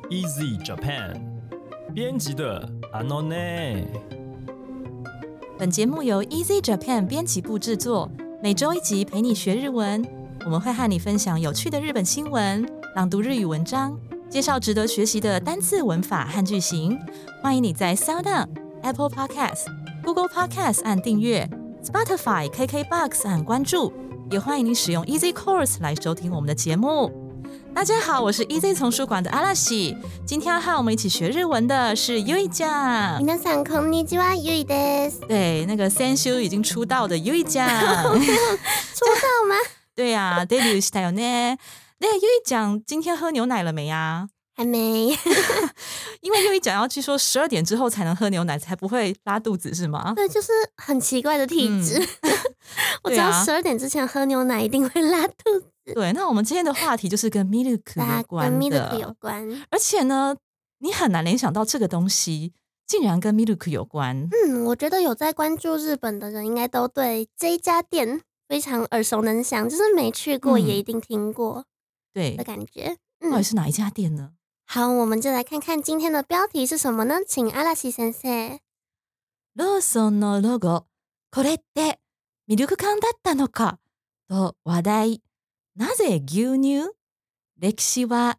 Easy Japan 编辑的 Anone。 本节目由 Easy Japan 编辑部制作，每周一集陪你学日文。我们会和你分享有趣的日本新闻、朗读日语文章，介绍值得学习的单字、文法和句型。欢迎你在 SoundOn、Apple Podcast、Google Podcast 按订阅， Spotify、KKBox 按关注，也欢迎你使用 Easy Course 来收听我们的节目。大家好，我是 Easy 丛书馆的阿拉西，今天要和我们一起学日文的是 Yui 酱。 皆さんこんにちは、Yuiです。 对，那个先週已经出道的 Yui 酱。 出道吗？ 对呀、デビューしたよね。对，Yui 酱今天喝牛奶了没呀？ 还没。 因为Yui 酱要据说12点之后才能喝牛奶，才不会拉肚子，是吗？ 对，就是很奇怪的体质。我知道12点之前喝牛奶一定会拉肚子。 对，那我们今天的话题就是跟 milk 有关的， 跟 milk 有关。 而且呢，你很难联想到这个东西竟然跟 milk 有关。 我觉得有在关注日本的人应该都对这一家店非常耳熟能详，就是没去过也一定听过对的感觉。 到底是哪一家店呢？ 好，我们就来看看今天的标题是什么呢？请阿拉西先生。 ローソンのロゴ、これってミルク缶だったのかと話題。なぜ牛乳？歴史は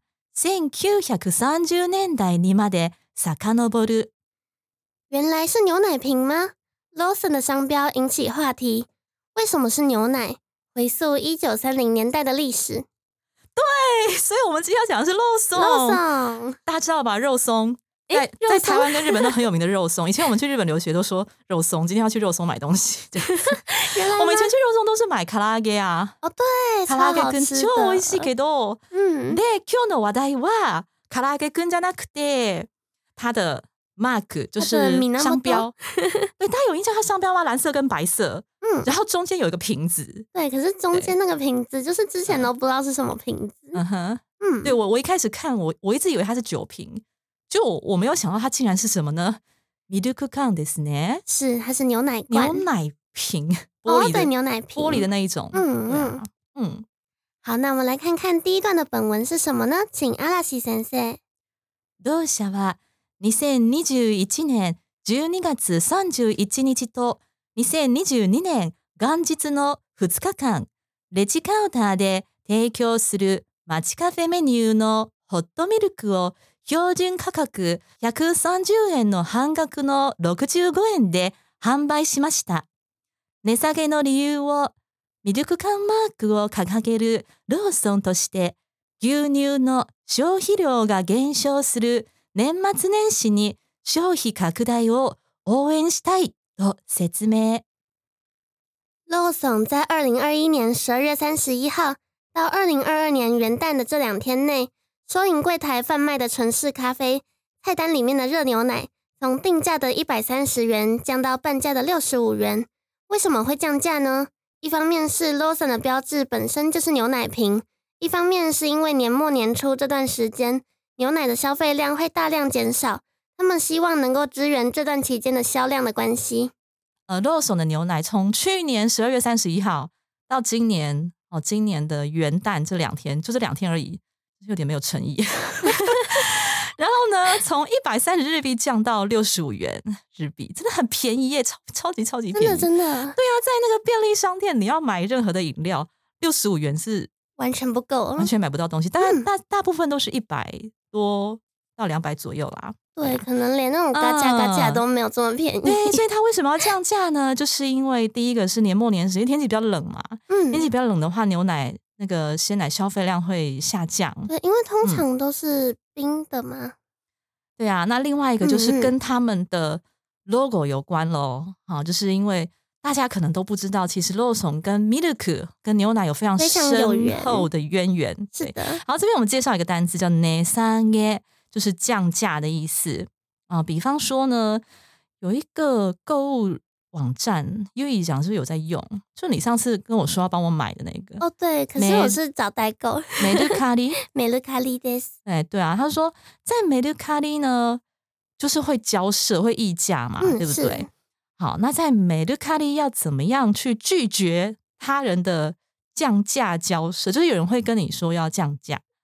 1930年代にまで遡る。 原来是牛奶瓶吗？ Lawson 的商标引起话题。为什么是牛奶？回溯1930年代的历史。 对，所以我们今天要讲的是肉松。大家知道吧？肉松在台湾跟日本都很有名的肉松。以前我们去日本留学都说肉松，今天要去肉松买东西。我们以前去肉松都是买唐揚げ啊。 哦，对， 唐揚げくん超超美味しいけど。で、今日の話題は唐揚げくんじゃなくて它的 mark 就是商标。对，大家有印象它商标吗？蓝色跟白色。然后中间有一个瓶子。 对，可是中間那個瓶子就是之前都不知道是什麼瓶子。 对，我一开始看我一直以为它是酒瓶，就我没有想到它竟然是什么呢？ミルク缶ですね。 是，它是牛奶罐。 牛奶瓶，玻璃的， 对，牛奶瓶， 玻璃的那一種。 好，那我们来看看第一段的本文是什么呢？请阿拉西先生。 同社は2021年12月31日と2022年元日の2日間、レジカウンターで提供する街カフェメニューのホットミルクを標準価格130円の半額の65円で販売しました。値下げの理由をミルク缶マークを掲げるローソンとして牛乳の消費量が減少する年末年始に消費拡大を応援したいと説明。 ローソン在2021年12月31号到2022年元旦的这2天内，收银柜台贩卖的纯式咖啡菜单里面的热牛奶从定价的130元降到半价的65元。为什么会降价呢？一方面是 Lawson 的标志本身就是牛奶瓶，一方面是因为年末年初这段时间牛奶的消费量会大量减少，他们希望能够支援这段期间的销量的关系。 ローソン的牛奶从去年12月31号到今年的元旦这2天，就这2天而已，有点没有诚意。然后呢，从130日币降到65元日币，真的很便宜耶，超级便宜， 真的。 对啊，在那个便利商店，你要买任何的饮料，65元是完全不够， 完全买不到东西。当然大部分都是100多到200左右啦。 对，可能连那种嘎价都没有这么便宜。 对，所以它为什么要降价呢？就是因为第一个是年末年始，因为天气比较冷嘛。天气比较冷的话，牛奶那个鲜奶消费量会下降。 对，因为通常都是冰的嘛。 对啊，那另外一个就是跟他们的 logo 有关咯。就是因为大家可能都不知道，其实ローソン跟 milk 跟牛奶有非常深厚的渊源。 是的。 好，这边我们介绍一个单字叫値下げ，就是降价的意思。比方说呢，有一个购物网站，Yui讲是不是有在用？就你上次跟我说要帮我买的那个。 哦，对，可是我是找代购。 メルカリ， メルカリです。 对啊，他说在メルカリ呢，就是会交涉、会议价嘛，对不对？好，那在メルカリ要怎么样去拒绝他人的降价交涉？就是有人会跟你说要降价，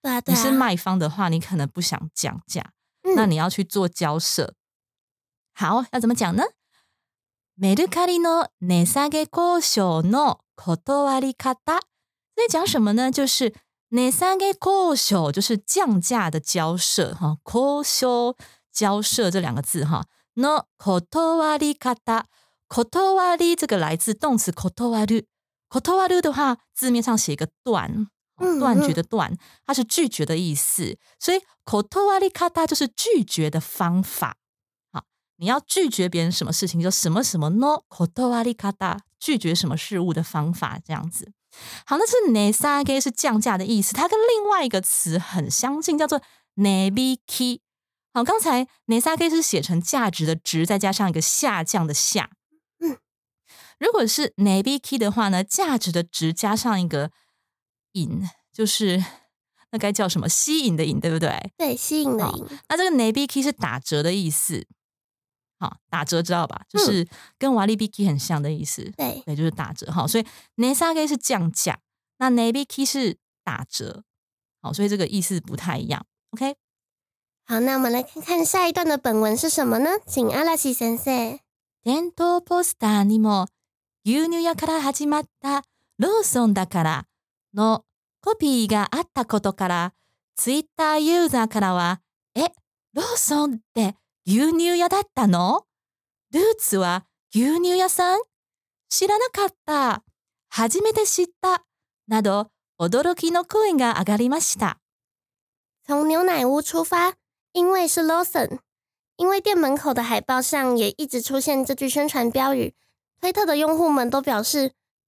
对啊， 你是卖方的话，你可能不想降价，那你要去做交涉。好，要怎么讲呢？メルカリの値下げ交渉の断り方。在讲什么呢？就是値下げ交渉，就是降价的交涉哈。交渉交涉这两个字哈。の断り方，断り这个来自动词断る。断る的话，字面上写一个断，断绝的断，它是拒绝的意思，所以断り方就是拒绝的方法。好，你要拒绝别人什么事情，就什么什么の断り方，拒绝什么事物的方法，这样子。好，那是値下げ是降价的意思，它跟另外一个词很相近，叫做値引き。好，刚才値下げ是写成价值的值，再加上一个下降的下。如果是値引き的话呢，价值的值加上一个引，就是那该叫什么？吸引的引，对不对？ 对，吸引的引。 那这个値引き是打折的意思。好，打折知道吧？就是跟割引很像的意思。 对， 就是打折。好，所以値下げ是降价，那値引き是打折。好，所以这个意思不太一样。OK。 好，那我们来看看下一段的本文是什么呢？请阿拉西先生。 店頭ポスターにも牛乳屋から始まったローソンだからのコピーがあったことから、ツイッターユーザーからは、ローソンって牛乳屋だったの？ルーツは牛乳屋さん？知らなかった。初めて知った。など、驚きの声が上がりました。 从牛奶屋出发，因为是 Lawson， 因为店门口的海报上也一直出现这句宣传标语，推特的用户们都表示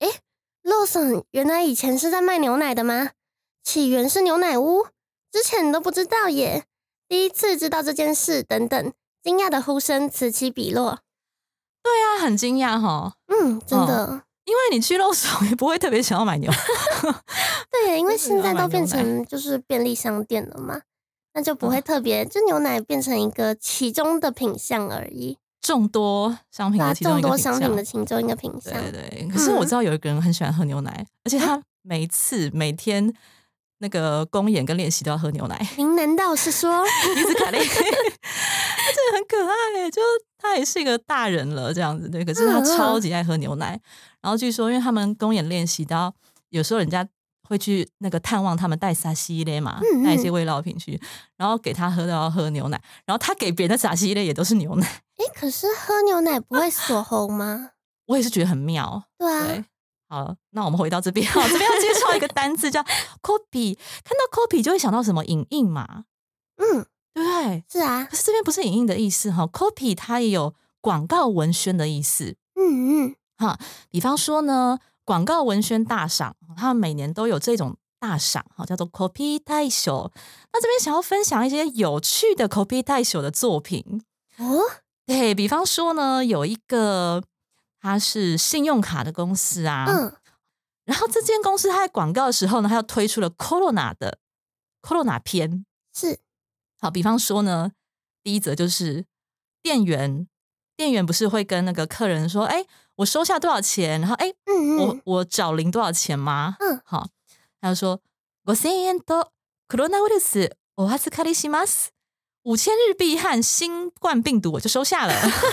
，Lawson 原来以前是在卖牛奶的吗？起源是牛奶屋？之前都不知道耶，第一次知道这件事等等，惊讶的呼声此起彼落。 对啊，很惊讶齁。 真的。 因为你去肉松也不会特别想要买牛。 对，因为现在都变成就是便利商店了嘛，那就不会特别，就牛奶变成一个其中的品项而已。 众多商品的其中一个品项， 众多商品的其中一个品项。 对对，可是我知道有一个人很喜欢喝牛奶，而且他每天那个公演跟练习都要喝牛奶。 您难道是说伊兹卡利？他真的很可爱耶，就他也是一个大人了这样子，对。可是他超级爱喝牛奶。然后据说，因为他们公演练习到有时候人家会去那个探望他们，带沙西类嘛，带一些味料品去，然后给他喝都要喝牛奶，然后他给别人的沙西类也都是牛奶。 可是喝牛奶不会锁喉吗？ 我也是觉得很妙。 对啊。 对，好，那我们回到这边，这边要介绍一个单字叫 copy。看到 copy 就会想到什么影印嘛，对不对？ 是啊。 可是这边不是影印的意思哈 ，copy 它也有广告文宣的意思。比方说呢，广告文宣大赏，他们每年都有这种大赏，叫做 copy 大賞。那这边想要分享一些有趣的 copy 大賞的作品。对，比方说呢，有一个它是信用卡的公司啊，然后这间公司它在广告的时候呢，它又推出了 Corona 的 Corona 篇。 是。 好，比方说呢，第一则就是店员不是会跟那个客人说，我收下多少钱，然后我找零多少钱吗？好，他就说5000円とコロナウイルスお預かりします。5000日币和新冠病毒我就收下了。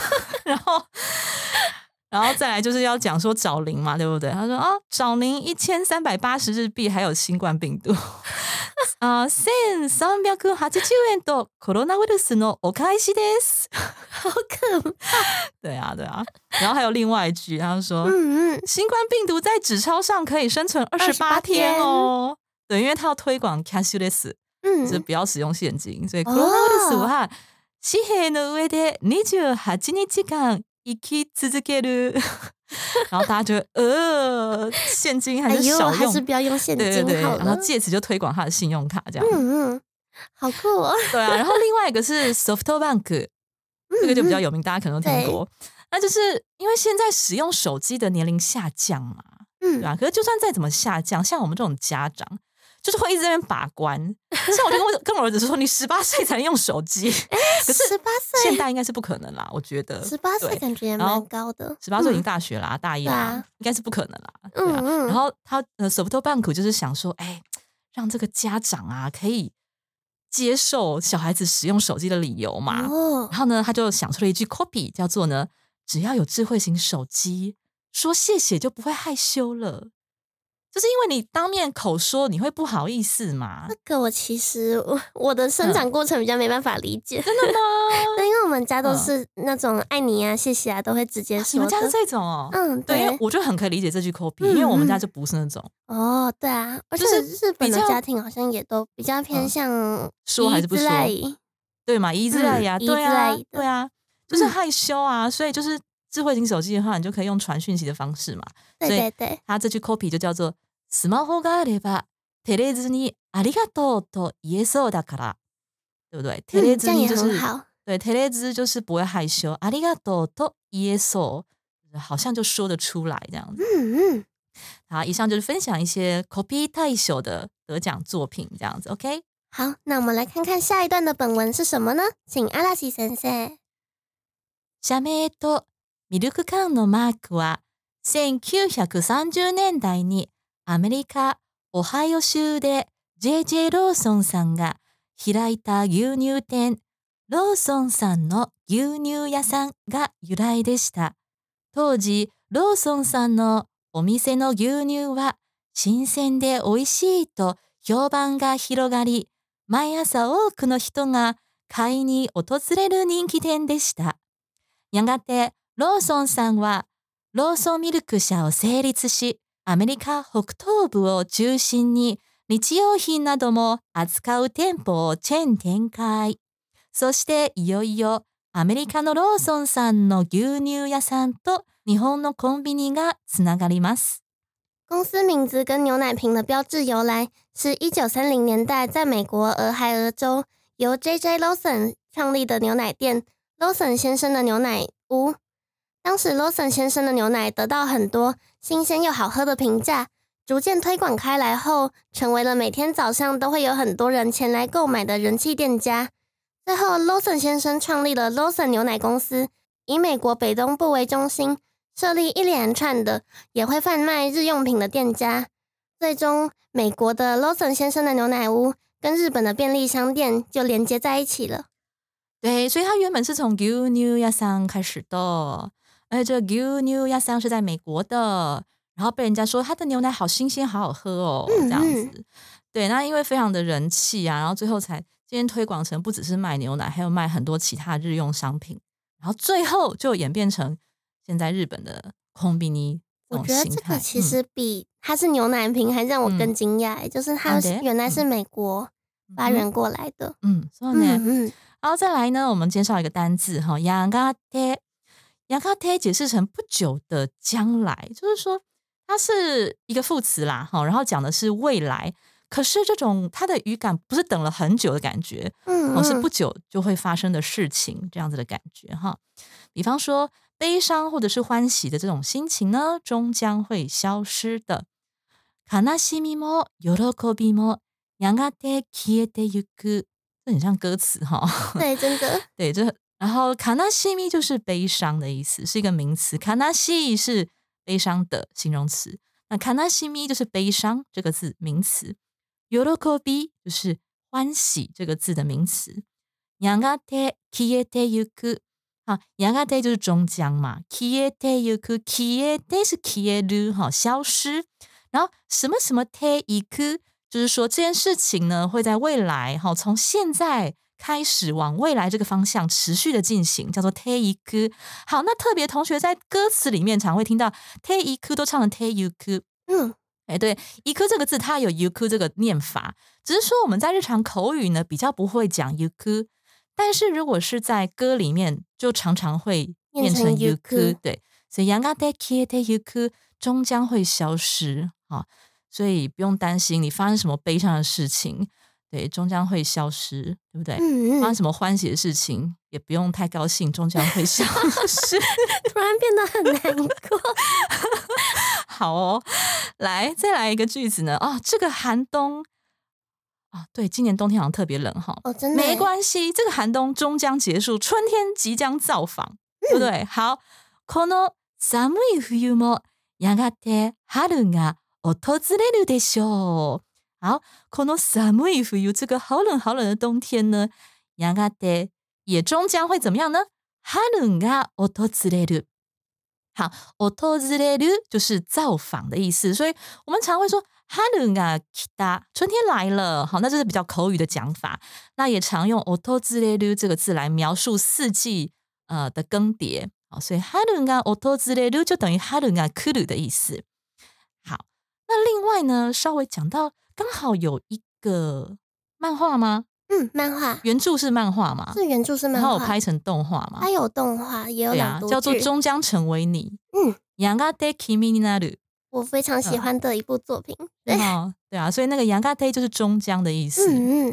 然后再来就是要讲说找零嘛，对不对？他说找零1380日币，还有新冠病毒。1380円とコロナウイルスのお返しです。 好可怕。 对啊。然后还有另外一句，他就说新冠病毒在纸钞上可以生存28天哦。对，因为他要推广 cashless，就是不要使用现金，所以コロナウイルスは紙幣の上で28日間生き続ける。然后大家觉得现金还是少用， 还是不要用现金好了。 然后借此就推广他的信用卡，这样。 好酷哦。 对啊，然后另外一个是 SoftBank，这个就比较有名，大家可能都听过。那就是因为现在使用手机的年龄下降嘛，对啊。可是就算再怎么下降，像我们这种家长，就是会一直在那边把关。像我就跟我儿子说，你18岁才能用手机。可是18岁现在应该是不可能啦，我觉得。 18岁感觉也蛮高的。 18岁已经大学啦，大一啦，应该是不可能啦。然后他SoftBank 就是想说， 让这个家长啊可以接受小孩子使用手机的理由嘛。然后呢，他就想出了一句 copy， 叫做呢，只要有智慧型手机，说谢谢就不会害羞了。就是因为你当面口说，你会不好意思嘛。 这个我其实我的生长过程比较没办法理解。 真的吗？ 对，因为我们家都是那种爱你啊、谢谢啊，都会直接说的。 你们家是这种哦？ 对， 因为我就很可以理解这句 copy，因为我们家就不是那种。 对啊，而且日本的家庭好像也都比较偏向说还是不说，对嘛？一字赖呀，对啊，就是害羞啊，所以就是智慧型手机的话，你就可以用传讯息的方式嘛。 对， 它这句 copy 就叫做スマホがあれば照れずにありがとうと言えそうだから，对不对？照れずに就是对，照れず就是不会害羞，ありがとうと言えそう，好像就说得出来这样子。好，以上就是分享一些 copy 対象的得奖作品这样子 ，OK？ 好，那我们来看看下一段的本文是什么呢？请阿拉西先生。 社名とミルク缶のマークは1930年代にアメリカ・オハイオ州で J.J. ローソンさんが開いた牛乳店ローソンさんの牛乳屋さんが由来でした。当時ローソンさんのお店の牛乳は新鮮で美味しいと評判が広がり、毎朝多くの人が買いに訪れる人気店でした。やがてローソンさんはローソンミルク社を成立し、アメリカ北東部を中心に日用品なども扱う店舗をチェーン展開。そしていよいよアメリカのローソンさんの牛乳屋さんと日本のコンビニがつながります。 公司名字跟牛奶瓶的标志由来是1930年代在美国俄亥俄州由 J.J. Lawson 创立的牛奶店 Lawson 先生的牛奶屋。当时 Lawson 先生的牛奶得到很多新鲜又好喝的评价，逐渐推广开来后，成为了每天早上都会有很多人前来购买的人气店家。最后 Lawson 先生创立了 Lawson 牛奶公司，以美国北东部为中心，设立一连串的也会贩卖日用品的店家。最终美国的 Lawson 先生的牛奶屋跟日本的便利商店就连接在一起了。 对，所以它原本是从牛乳屋さん开始的，而且这个牛乳屋さん是在美国的，然后被人家说它的牛奶好新鲜好好喝哦，这样子。对，那因为非常的人气啊，然后最后才今天推广成不只是卖牛奶，还有卖很多其他日用商品，然后最后就演变成现在日本的コンビニ这种形态。 我觉得这个其实比它是牛奶瓶还让我更惊讶，就是它原来是美国发源过来的。 そうね。然后再来呢，我们介绍一个单字哈，やがて。やがて解释成不久的将来，就是说它是一个副词啦，然后讲的是未来。可是这种它的语感不是等了很久的感觉，是不久就会发生的事情，这样子的感觉哈。比方说悲伤或者是欢喜的这种心情呢，终将会消失的。悲しみも喜びもやがて消えてゆく，这很像歌词哈。 对，真的。 对，然後悲しみ就是悲伤的意思，是一个名词。悲しい是悲伤的形容词，那悲しみ就是悲伤这个字名词。喜び就是欢喜这个字的名词。やがて消えてゆく，やがて就是终将嘛，消えてゆく，消えて是消える，消失。然后什么什么てゆく，就是说这件事情呢会在未来，从现在开始往未来这个方向持续的进行，叫做てゆく。好，那特别同学在歌词里面常会听到てゆく都唱成てゆく。对，ゆく这个字它有ゆく这个念法，只是说我们在日常口语呢比较不会讲ゆく，但是如果是在歌里面就常常会念成ゆく。对，所以やがて消えてゆく终将会消失，所以不用担心你发生什么悲伤的事情，对，终将会消失，对不对？发生什么欢喜的事情也不用太高兴，终将会消失。 突然变得很难过。 好哦，来再来一个句子呢。这个寒冬对，今年冬天好像特别冷哈。 真的没关系，这个寒冬终将结束，春天即将造访，对不对？好，この寒い冬もやがて春が訪れるでしょう。 好，この寒い冬这个好冷好冷的冬天呢，やがて也终将会怎么样呢？春が訪れる。好，訪れる就是造访的意思，所以我们常会说春が来た，春天来了。好，那这是比较口语的讲法。那也常用訪れる这个字来描述四季的更迭。好，所以春が訪れる就等于春が来る的意思。好，那另外呢，稍微讲到刚好有一个漫画吗？ 漫画原著是漫画嘛？ 是原著是漫画， 然后有拍成动画嘛？ 它有动画，也有朗读剧， 叫做《终将成为你》。やがて君になる， 我非常喜欢的一部作品。 对啊，所以那个やがて就是终将的意思。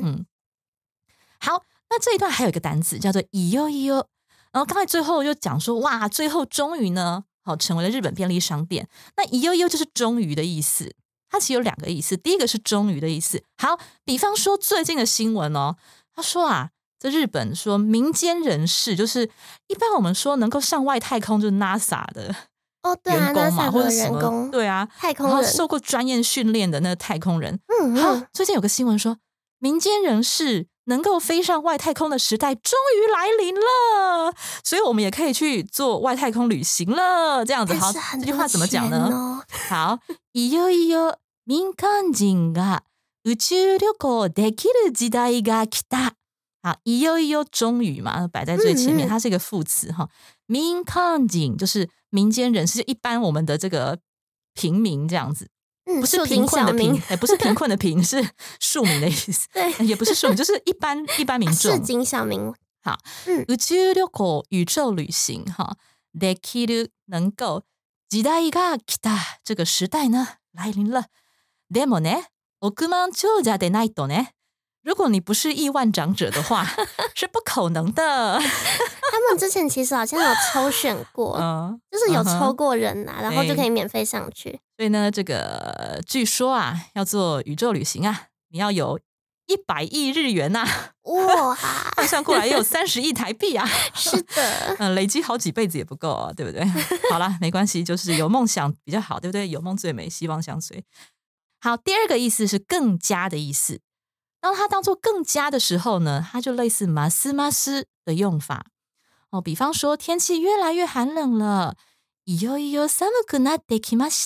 好，那这一段还有一个单词叫做いよいよ，然后刚才最后又讲说，哇，最后终于呢，好成为了日本便利商店。那いよいよ就是终于的意思。它其实有2个意思，第一个是终于的意思。好，比方说最近的新闻哦，他说啊，在日本说民间人士，就是一般我们说能够上外太空就是 NASA 的员工嘛，或者什么，对啊， 太空人， 然后受过专业训练的那个太空人。好，最近有个新闻说，民间人士能够飞上外太空的时代终于来临了，所以我们也可以去做外太空旅行了。这样子，好，这句话怎么讲呢？好，いよいよ民間人が宇宙旅行できる時代が来た。好，いよいよ终于嘛，摆在最前面，它是一个副词哈。民間人就是民间人士，就一般我们的这个平民这样子。不是贫困的贫，不是贫困的贫，是庶民的意思。 对， 也不是庶民，就是一般民众。 市井小民。 好，宇宙旅行宇宙旅行哈，できる能够，時代が来た这个时代呢来临了。でもね、億万長者でないとね。如果你不是亿万长者的话，是不可能的。 他们之前其实好像有抽选过，就是有抽过人啊，然后就可以免费上去。 所以呢，这个据说啊，要做宇宙旅行啊，你要有100亿日元呐， 哇， 换算过来也有30亿台币啊。 是的， 累积好几辈子也不够啊，对不对？好啦，没关系，就是有梦想比较好，对不对？有梦最美，希望相随。好，第2个意思是更加的意思。当它当做更加的时候呢，它就类似ますます的用法。比方说天气越来越寒冷了，いよいよ寒くなってきました。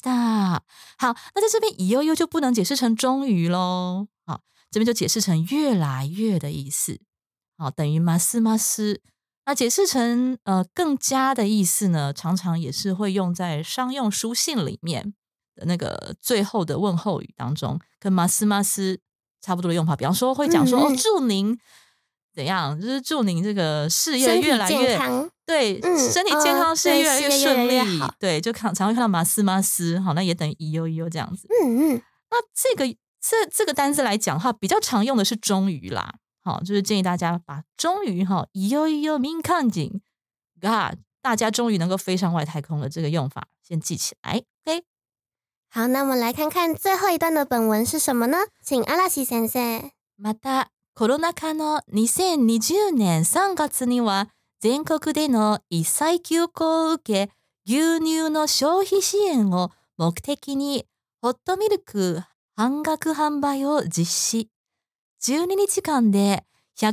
好，那在这边いよいよ就不能解释成终于咯。好，这边就解释成越来越的意思。好，等于ますます。那解释成更加的意思呢，常常也是会用在商用书信里面的那个最后的问候语当中，跟ますます差不多的用法。比方说会讲说祝您怎样，就是祝您这个事业越来越对，身体健康，事业越来越顺利。对，就常会看到ますます，好，那也等于いよいよ这样子。那这个单字来讲的话，比较常用的是终于啦。好，就是建议大家把终于哈いよいよ民間人が大家终于能够飞上外太空了这个用法先记起来。OK。 好，那我们来看看最后一段的本文是什么呢？请阿拉西先生。 またコロナ禍の2020年3月には全国での一切休校を受け、牛乳の消費支援を目的にホットミルク半額販売を実施。12日間で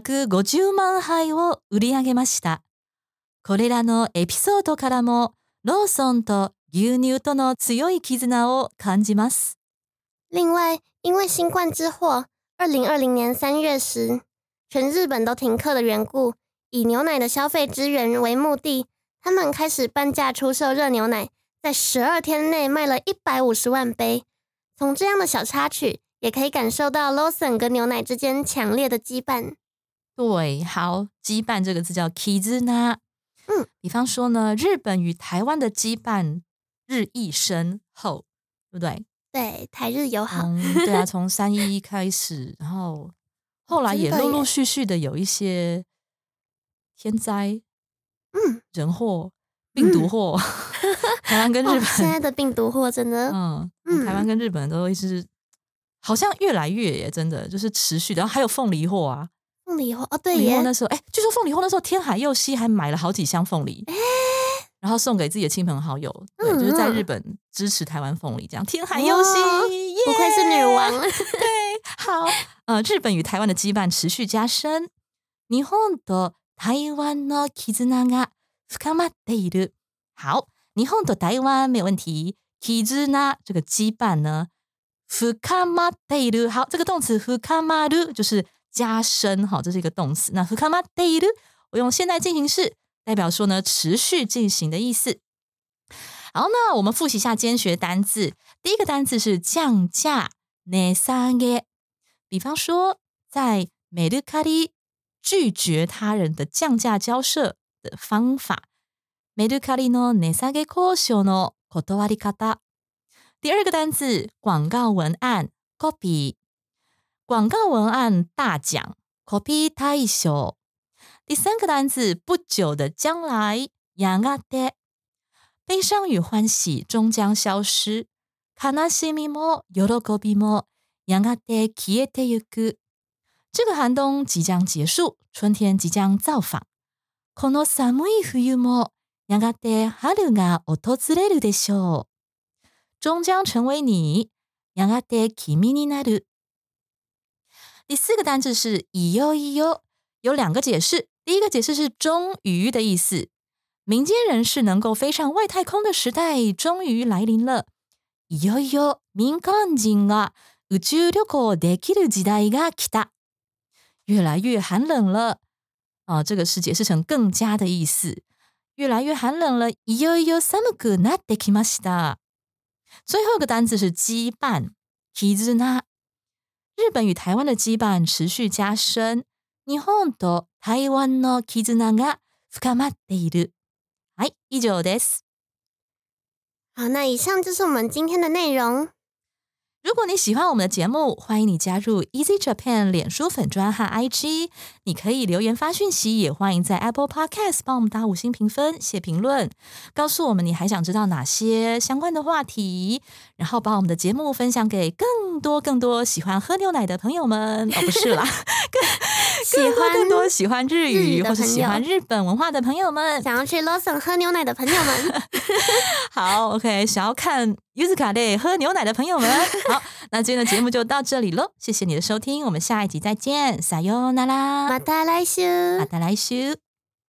150万杯を売り上げました。これらのエピソードからもローソンと牛乳との強い絆を感じます。 另外，因为新冠之祸，2020年3月时，全日本都停课的缘故，以牛奶的消费资源为目的，他们开始半价出售热牛奶，在12天内卖了150万杯。从这样的小插曲，也可以感受到 Lawson 跟牛奶之间强烈的羁绊。 对，好，羁绊这个字叫 kizuna。比方说呢，日本与台湾的羁绊日益深厚，对不对？ 对，台日友好。 对啊，从311开始，然后后来也陆陆续续的有一些天灾，人祸、病毒祸，台湾跟日本现在的病毒祸真的， 台湾跟日本都一直好像越来越耶，真的就是持续的。然后还有凤梨货啊， 凤梨货对耶， 那时候据说凤梨货那时候天海佑希还买了好几箱凤梨。然后送给自己的亲朋好友，对，就是在日本支持台湾凤梨这样。天海佑希， 不愧是女王。 对， 好，日本与台湾的羁绊持续加深。日本と台湾の絆が深まっている。好，日本と台湾没有问题。絆这个羁绊呢，深まっている。好，这个动词深まる就是加深，好，这是一个动词。那深まっている，我用现在进行式代表说呢持续进行的意思。好，那我们复习一下今天学的单字。第一个单字是降价，値下げ。比方说，在メルカリ拒绝他人的降价交涉的方法。メルカリの値下げ交渉の断り方。第二个单字广告文案 copy。广告文案大奖 copy 大賞。第三个单字不久的将来やがて。悲伤与欢喜终将消失。悲しみも喜びもやがて消えてゆく。这个寒冬即将结束，春天即将造訪。この寒い冬もやがて春が訪れるでしょう。终将成为你，やがて君になる。第四个单字是いよいよ，有两个解释。第一个解释是终于的意思，民间人士能够飞上外太空的时代终于来临了。いよいよ民間人が宇宙旅行できる時代が来た。越来越寒冷了，这个是解释成更加的意思。越来越寒冷了，いよいよ寒くなってきました。最後一個單字是羈絆，絆。日本與台灣的羈絆持續加深。日本と台灣の絆が深まっている。はい、以上です。 好，那以上就是我们今天的内容。 如果你喜欢我们的节目，欢迎你加入 Easy Japan 脸书粉专和 IG， 你可以留言发讯息，也欢迎在 Apple Podcast 帮我们打5星评分，写评论，告诉我们你还想知道哪些相关的话题，然后把我们的节目分享给更多喜欢喝牛奶的朋友们。不是啦，更多喜欢日语或是喜欢日本文化的朋友们， 想要去 Lawson 喝牛奶的朋友们。 好 ，OK， 想要看Yuzukaで喝牛奶的朋友们，好，那今天的节目就到这里咯，谢谢你的收听，我们下一集再见，さようなら， また来週。 また来週。